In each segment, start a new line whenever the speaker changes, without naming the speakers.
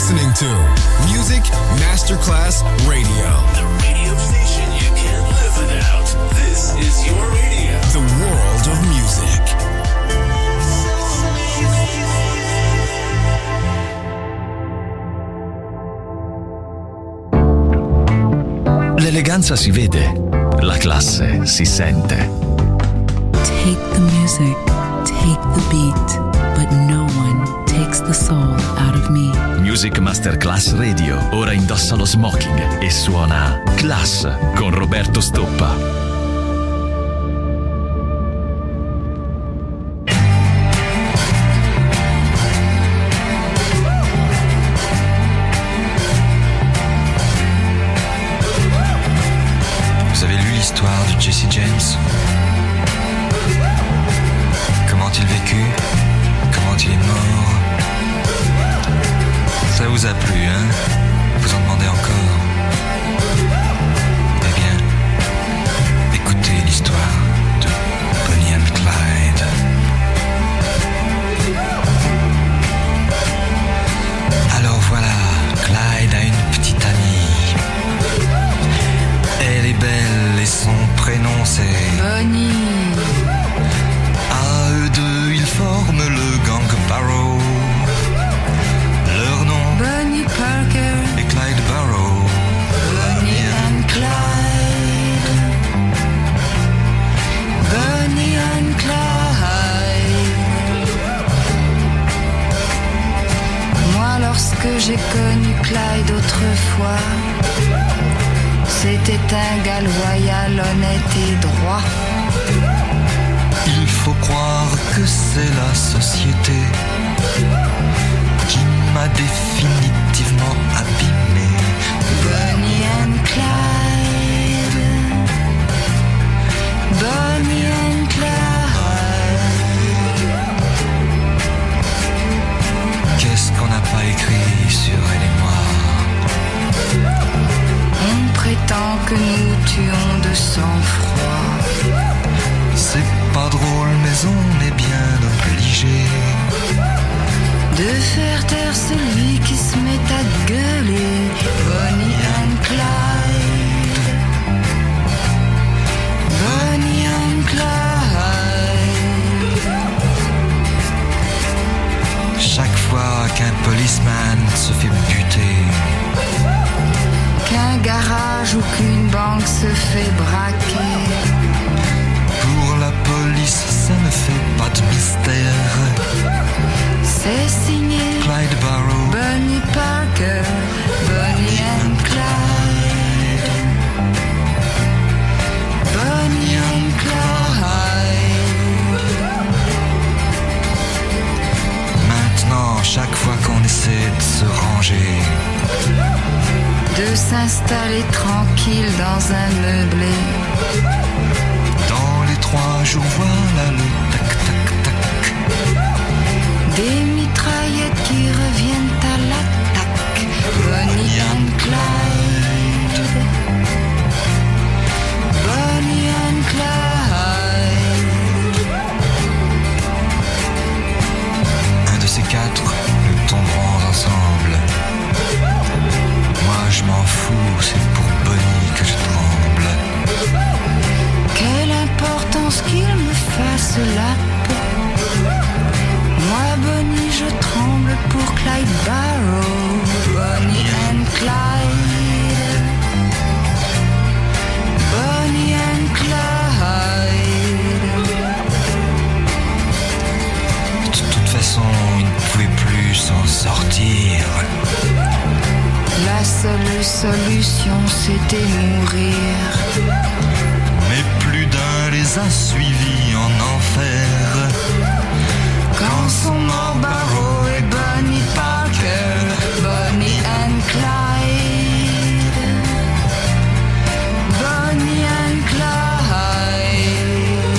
listening to Music Masterclass Radio.
The radio station you can't live without. This is your radio.
The world of music.
L'eleganza si vede, la classe si sente.
Take the music, take the beat, but no one takes the soul out of me.
Music Masterclass Radio ora indossa lo smoking e suona Class con Roberto Stoppa.
L'histoire de Jesse James. Comment il vécut, comment il est mort. Ça vous a plu, hein? Vous en demandez encore? Eh bien, écoutez l'histoire de Bonnie and Clyde. Alors voilà, Clyde a une petite amie. Elle est belle et son prénom c'est
Bonnie.
À eux deux ils forment le gang Barrow. Leur nom
Bonnie Parker
et Clyde Barrow.
Bonnie and Clyde. Bonnie and Clyde. Moi lorsque j'ai connu Clyde autrefois, c'était un gars loyal, honnête et droit.
Il faut croire que c'est la société qui m'a définitivement abîmé.
Bonnie and Clyde. Bonnie and Clyde.
Qu'est-ce qu'on n'a pas écrit sur elle et moi?
On prétend que nous tuons de sang-froid.
C'est pas drôle mais on est bien obligé
de faire taire celui qui se met à gueuler. Bonnie and Clyde. Bonnie and Clyde.
Chaque fois qu'un policeman se fait buter,
qu'un garage ou qu'une banque se fait braquer,
pour la police ça ne fait pas de mystère.
c'est signé
Clyde Barrow,
Bonnie Parker, Bonnie and Clyde. Bonnie and Clyde.
Maintenant chaque fois qu'on essaie de se ranger,
de s'installer tranquille dans un meublé,
dans les 3 jours voilà le tac tac tac,
des mitraillettes qui reviennent à l'attaque. Bonnie and Clyde. Bonnie and Clyde.
un de ces 4 nous tomberons ensemble. Moi je m'en fous, c'est pour Bonnie que je tremble.
Quelle importance qu'il me fasse la peau. Moi Bonnie je tremble pour Clyde Barrow. Bonnie and Clyde. Bonnie and Clyde.
De toute façon il ne pouvait plus s'en sortir.
La seule solution c'était mourir.
Mais plus d'un les a suivis en enfer.
Quand sont morts Barrow et Bonnie Parker. Bonnie and Clyde. Bonnie and Clyde.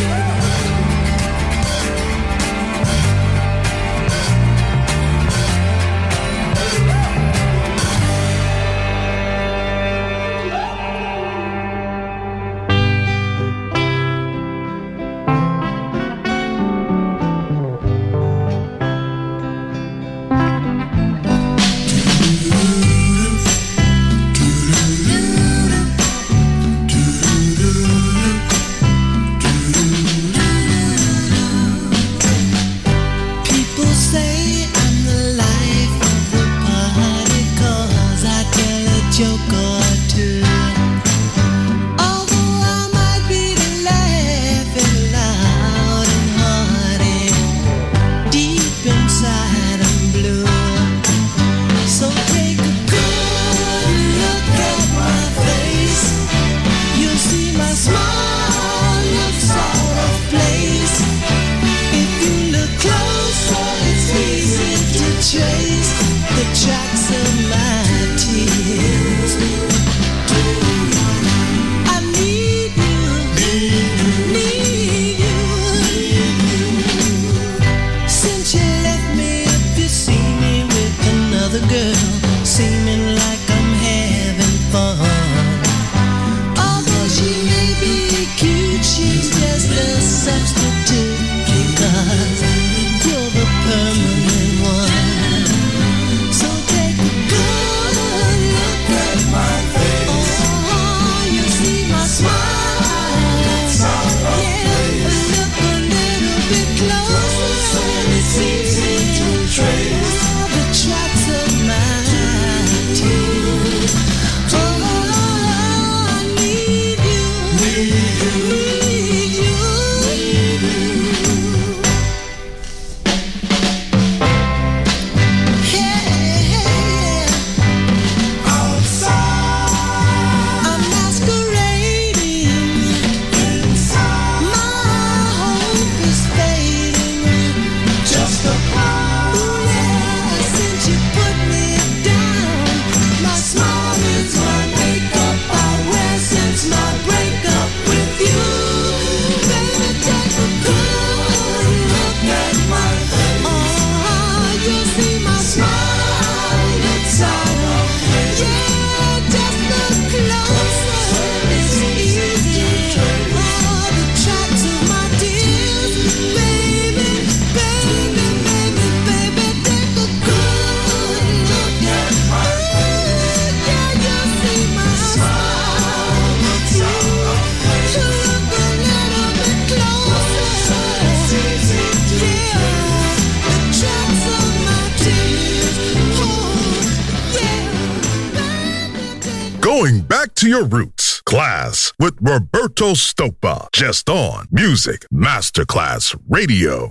Back to your roots. Class with Roberto Stoppa. Just on Music Masterclass Radio.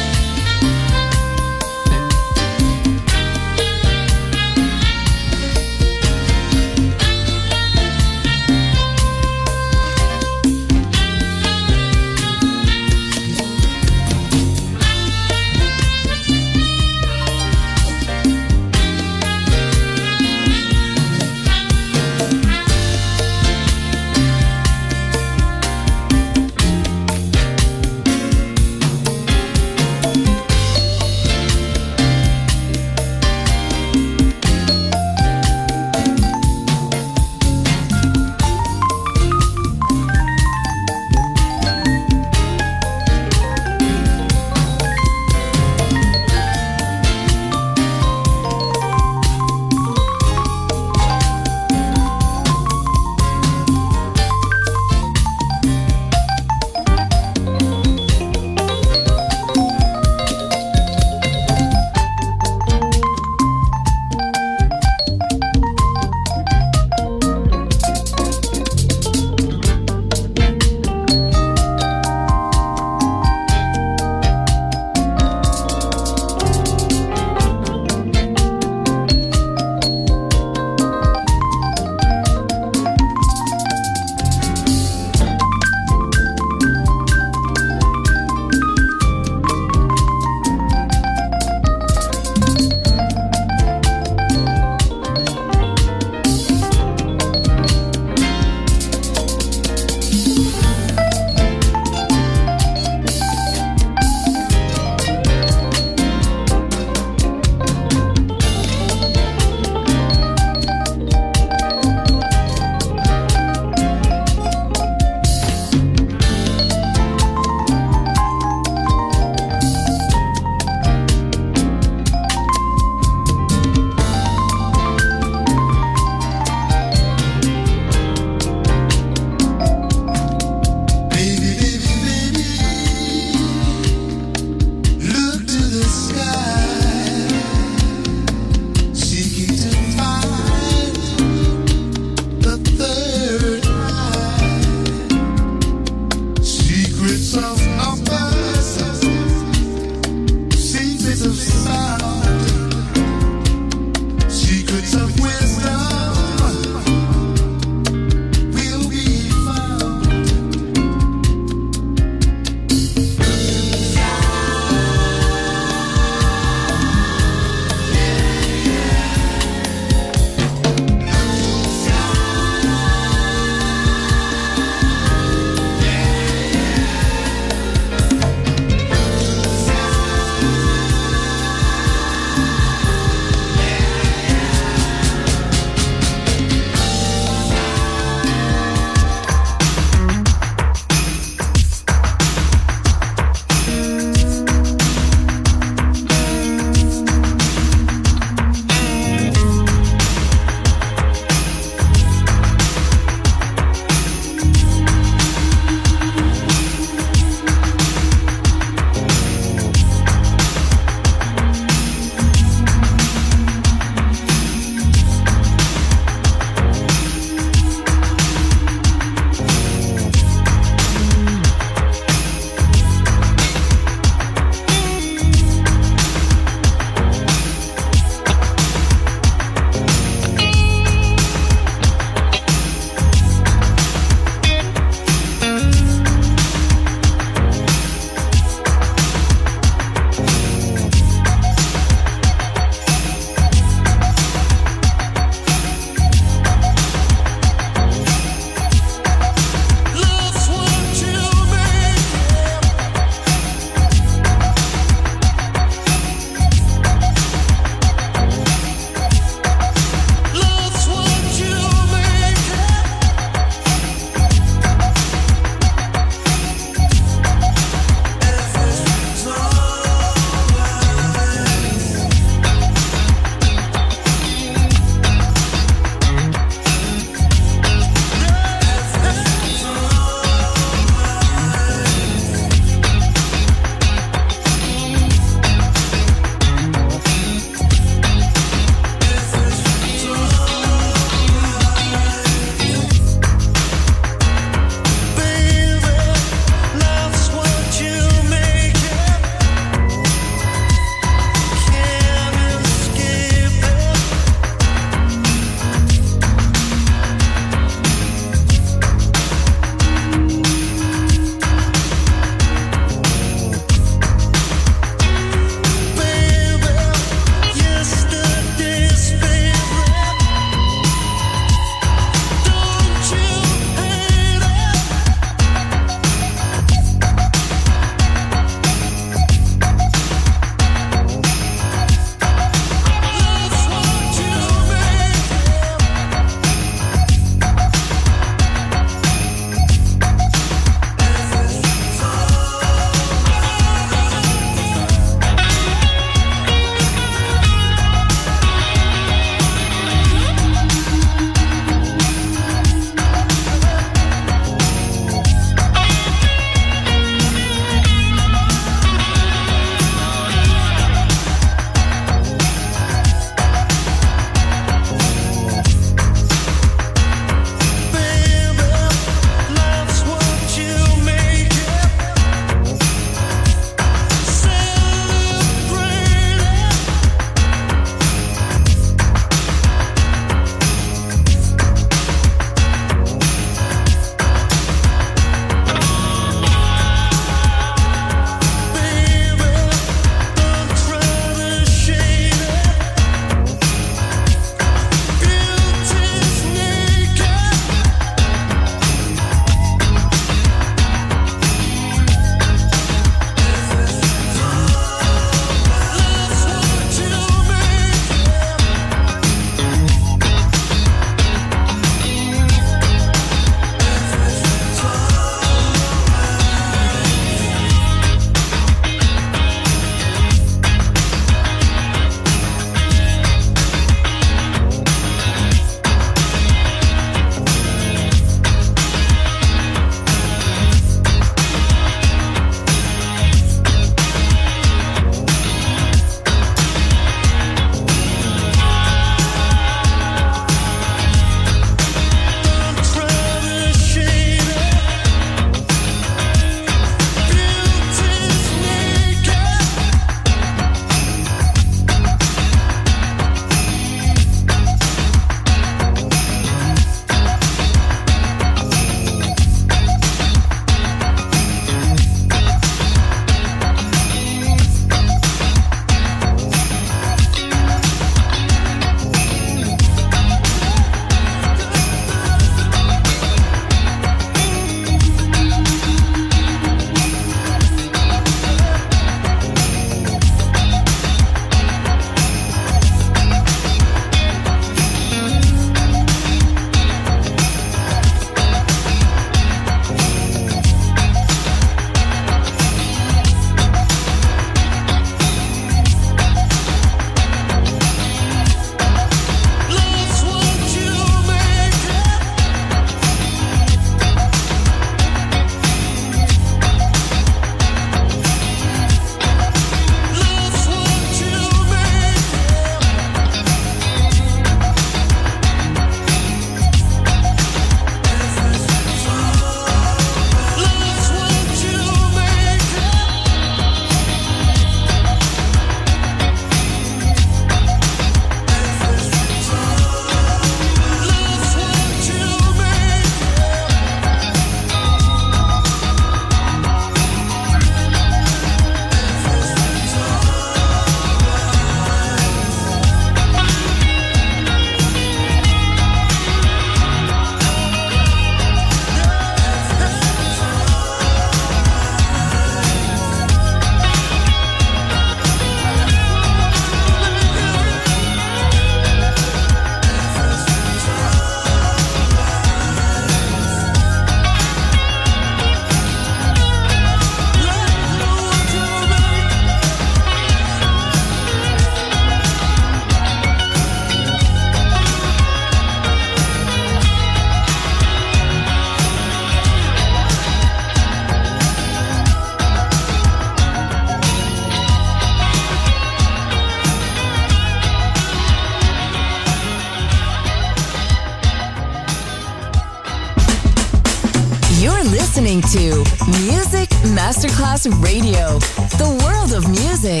You're listening to Music Masterclass Radio, the world of music.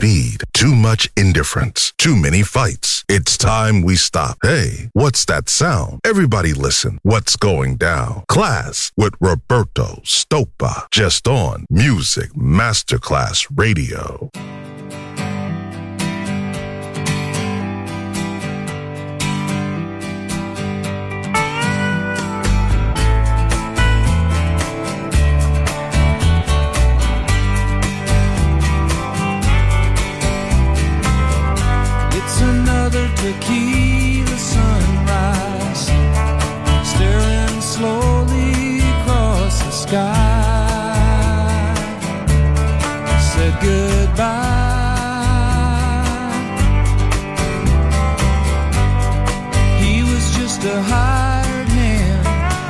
speed, too much indifference, too many fights. It's time we stop. Hey, what's that sound? Everybody listen. What's going down? Class with Roberto Stoppa. Just on Music Masterclass Radio.
Tequila sunrise, staring slowly across the sky. Said goodbye. He was just a hired hand,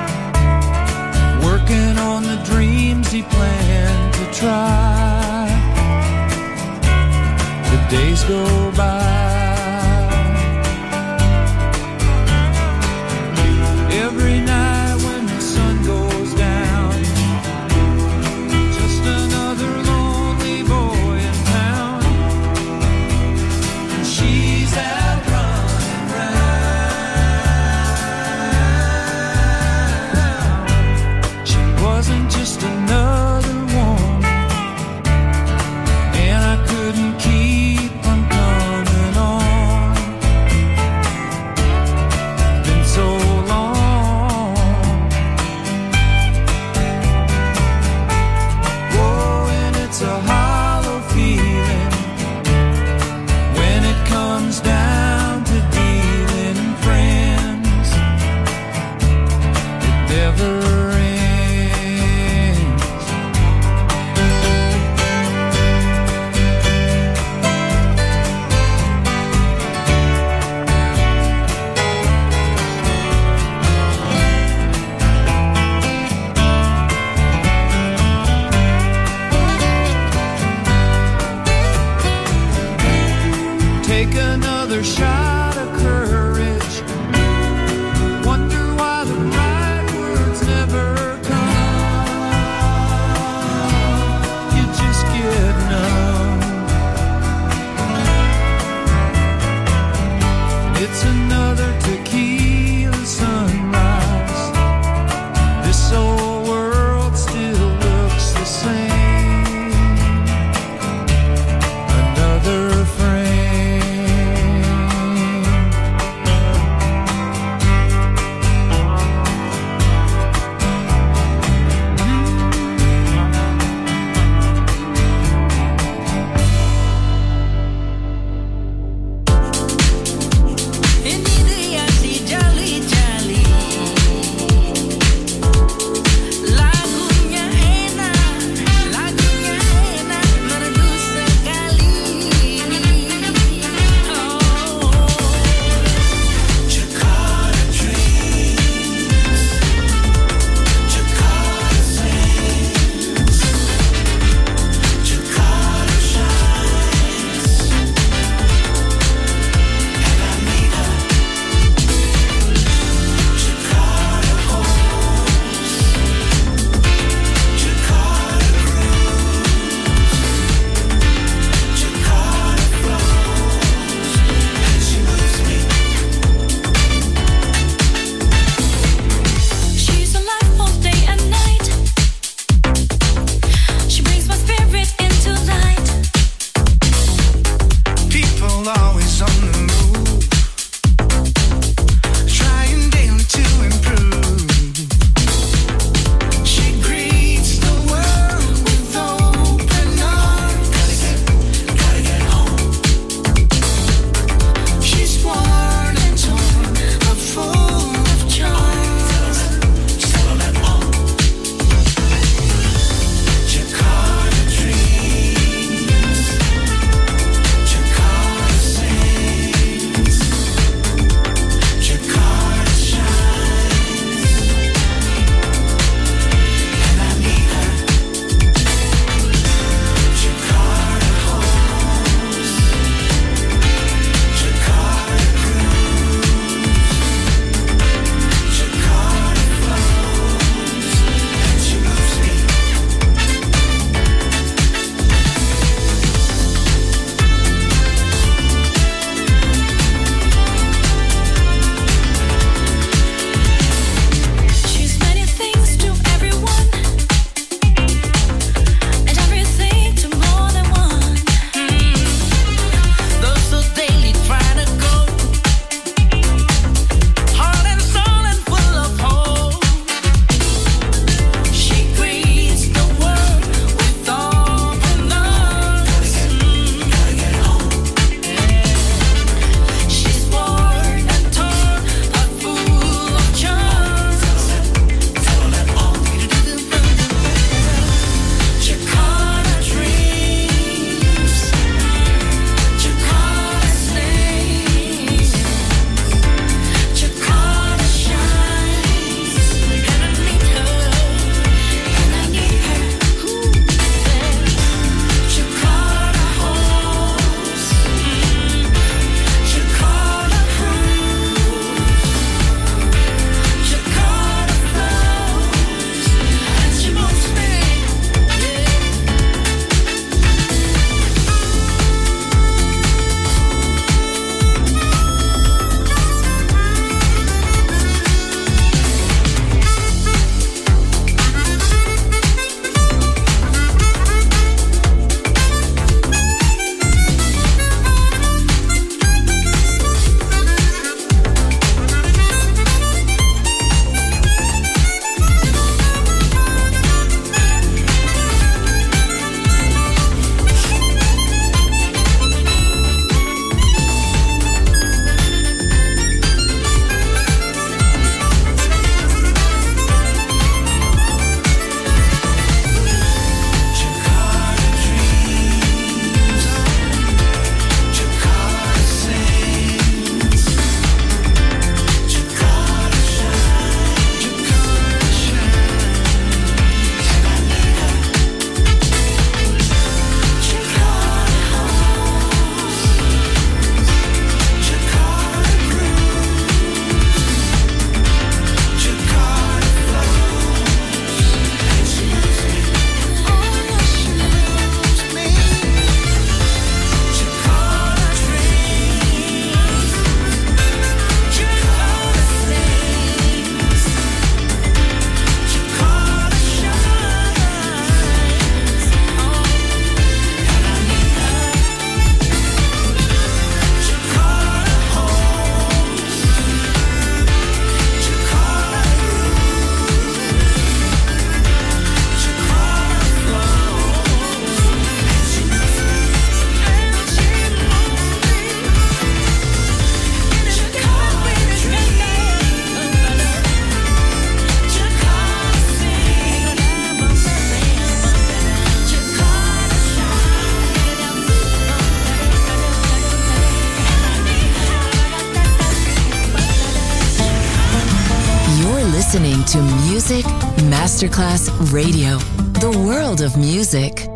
working on the dreams he planned to try. The days go by. Every night when the sun goes down, just another lonely boy in town. She's out running round. She wasn't just another woman, and I couldn't keep from coming
Music Masterclass Radio. The world of music.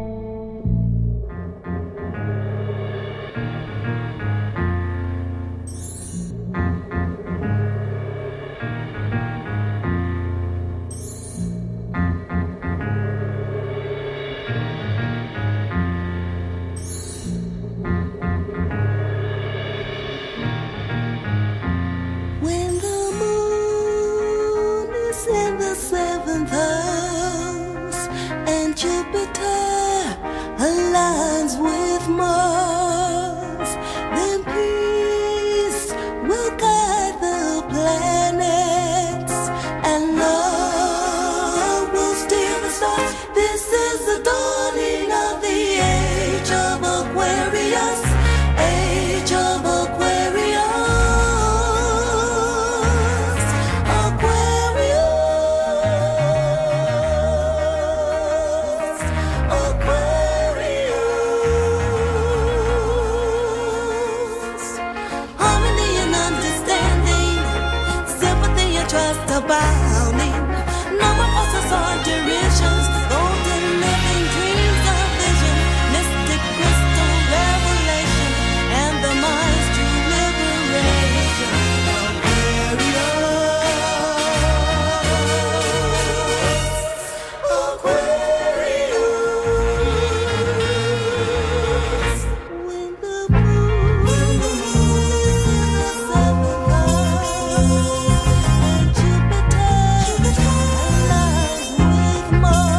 More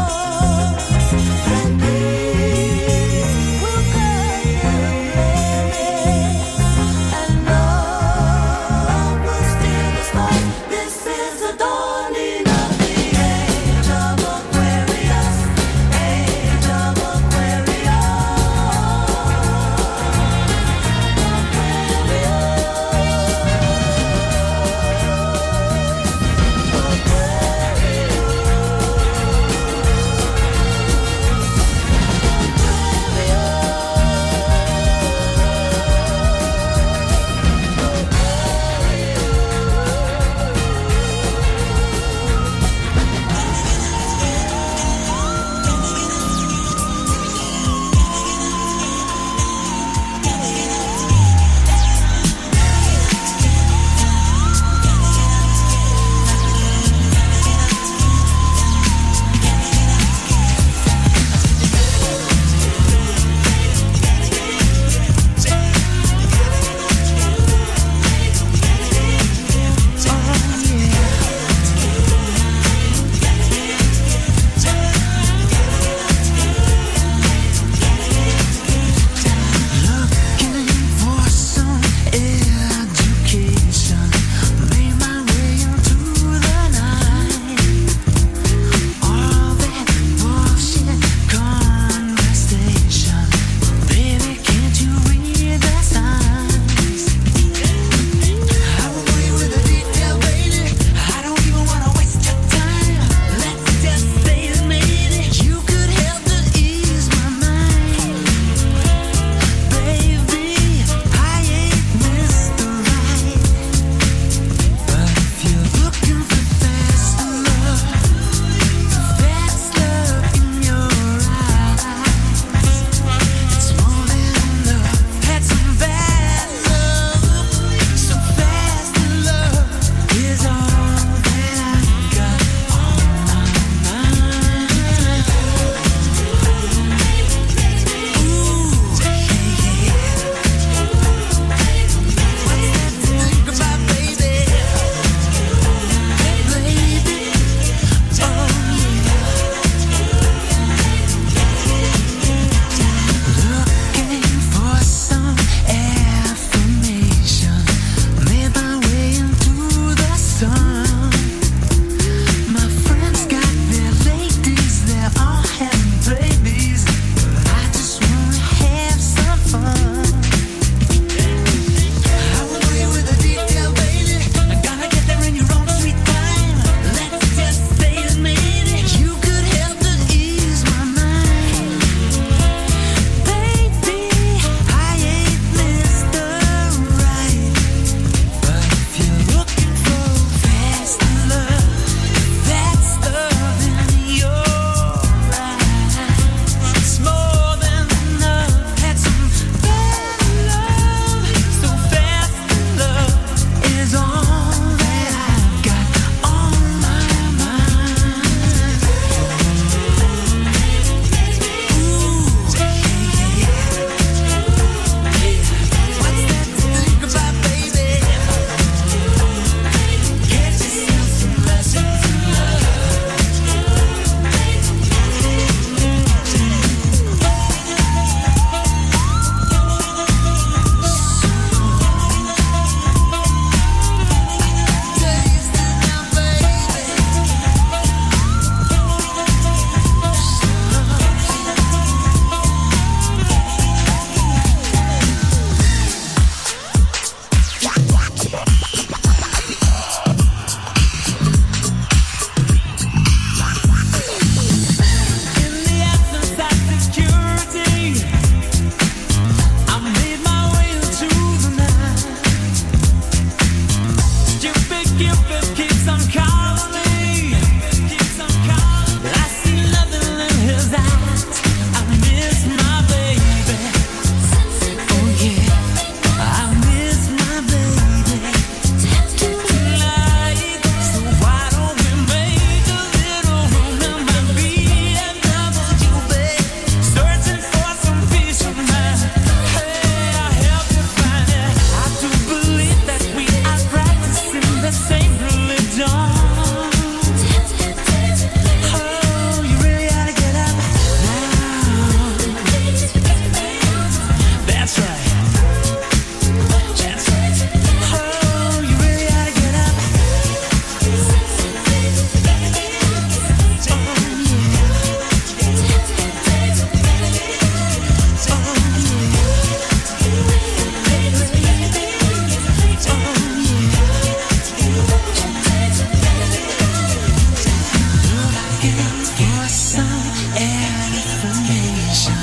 for some information.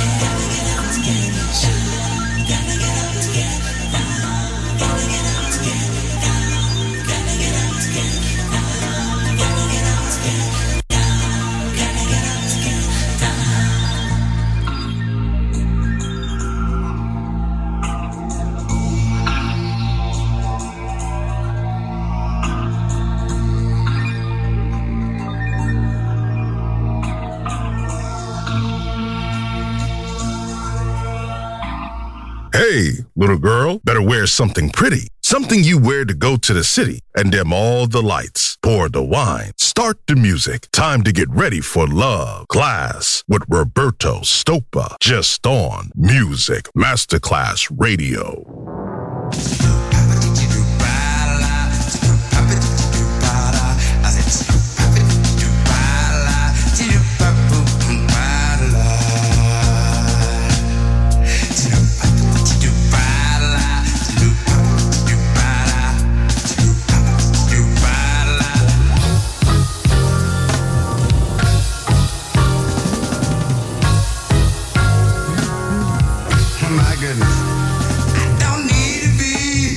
Hey, little girl, better wear something pretty. Something you wear to go to the city and dim all the lights. Pour the wine. Start the music. Time to get ready for love. Class with Roberto Stoppa. Just on Music Masterclass Radio.
My goodness. I don't need to be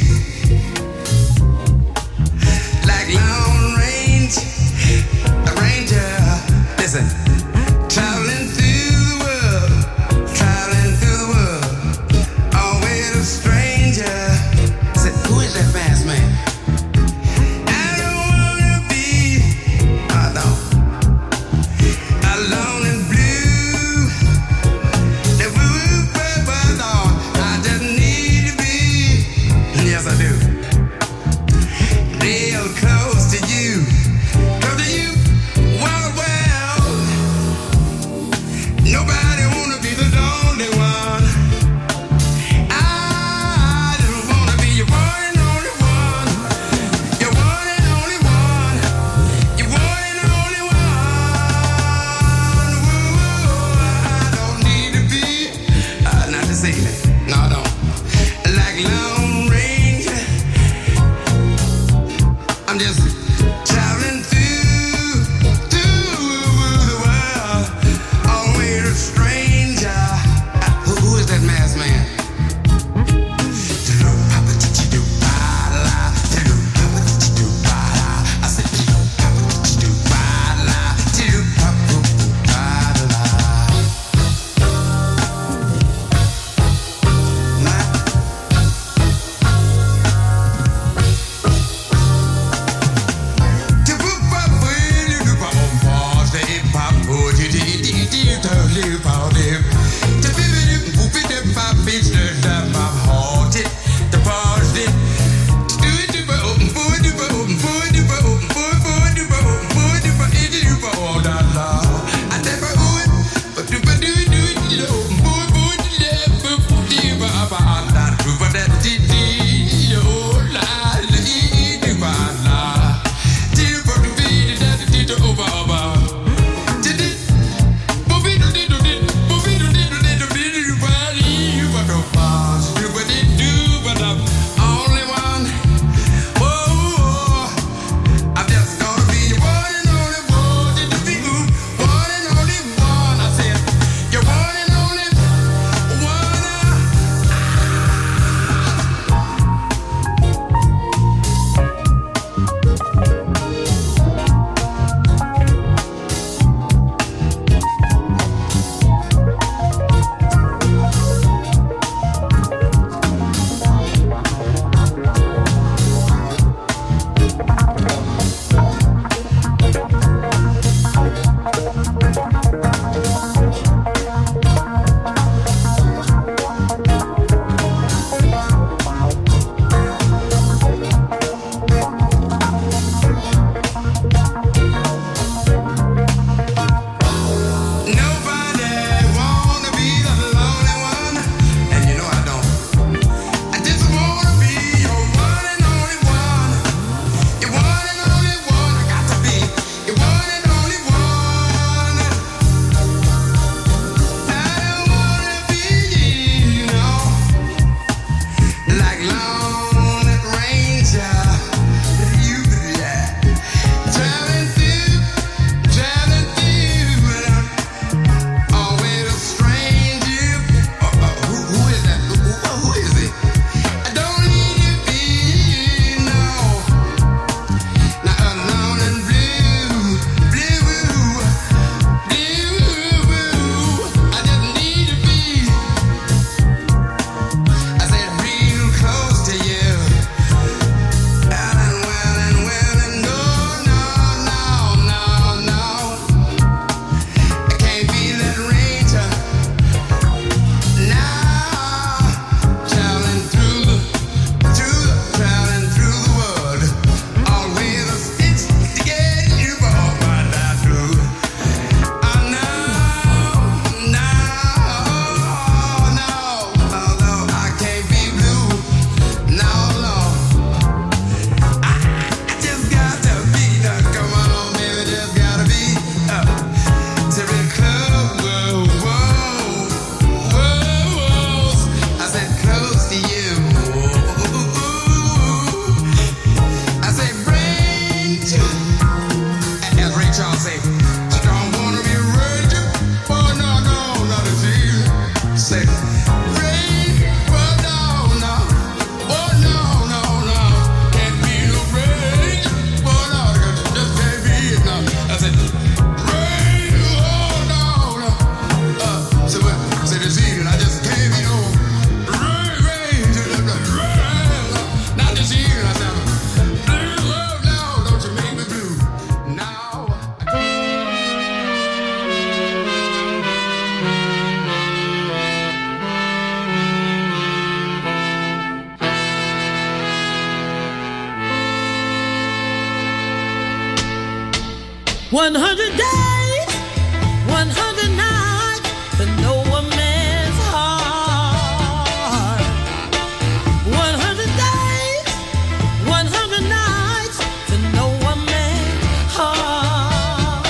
100 days, 100 nights to know a man's heart. 100 days, 100 nights to know a man's heart.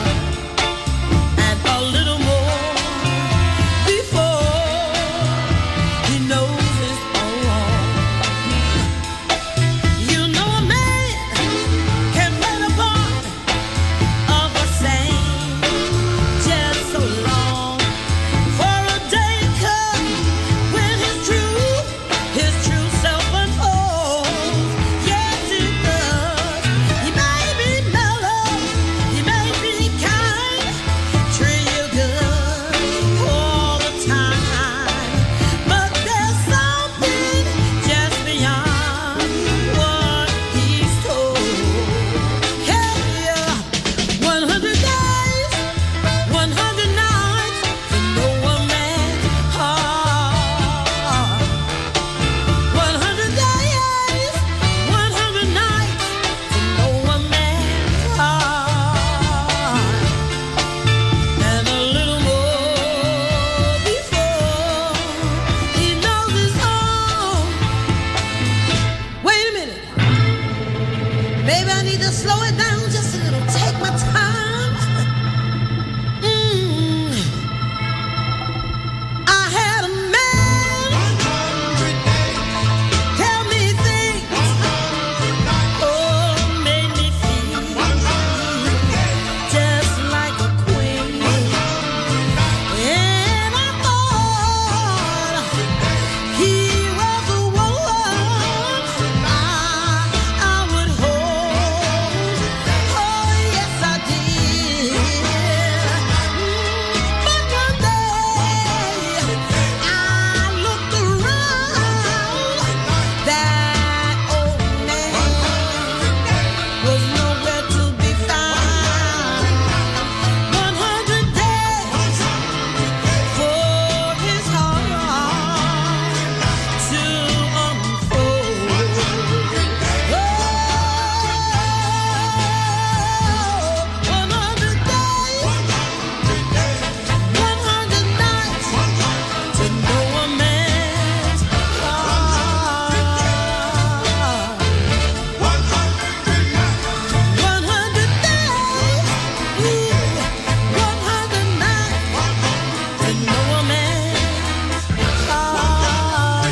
And a little more before he knows it's all. You know a man can play the part of a saint just so long, for a day comes when his true self unfolds. Yes, it does. He may be mellow, he may be kind, treat you good all the time, but there's something just beyond what he's told. Yeah, 100 days, 100 nights to know a man's heart. 100 days, 100 nights to know a man's heart. And a little more before he knows it's all. Wait a minute. Maybe I need to slow it down just a little. Take my time. I had a man tell me things, oh, made me feel just like a queen. And I thought he was the one I would hold. Oh, yes, I did. But one day I looked around. That old man was nowhere to be found. 100 days for his heart to unfold. Oh, 100 days, 100 nights to know a man's heart. 100 days, 100 nights to know a man's heart.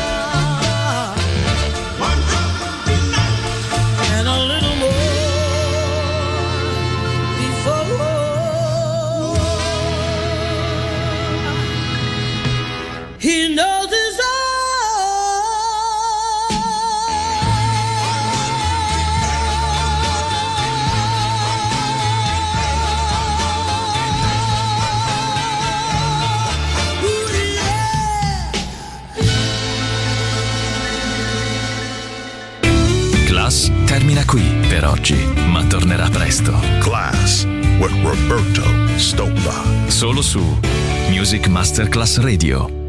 And a little more before he knows it's
Class termina qui per oggi, ma tornerà presto.
Class with Roberto Stoppa.
Solo su Music Masterclass Radio.